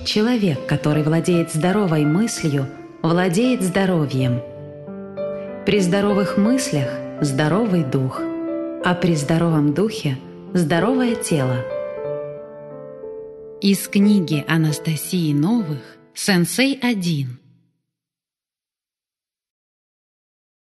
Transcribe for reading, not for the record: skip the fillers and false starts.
Человек, который владеет здоровой мыслью, владеет здоровьем. При здоровых мыслях – здоровый дух, а при здоровом духе – здоровое тело. Из книги Анастасии Новых «Сенсей 1».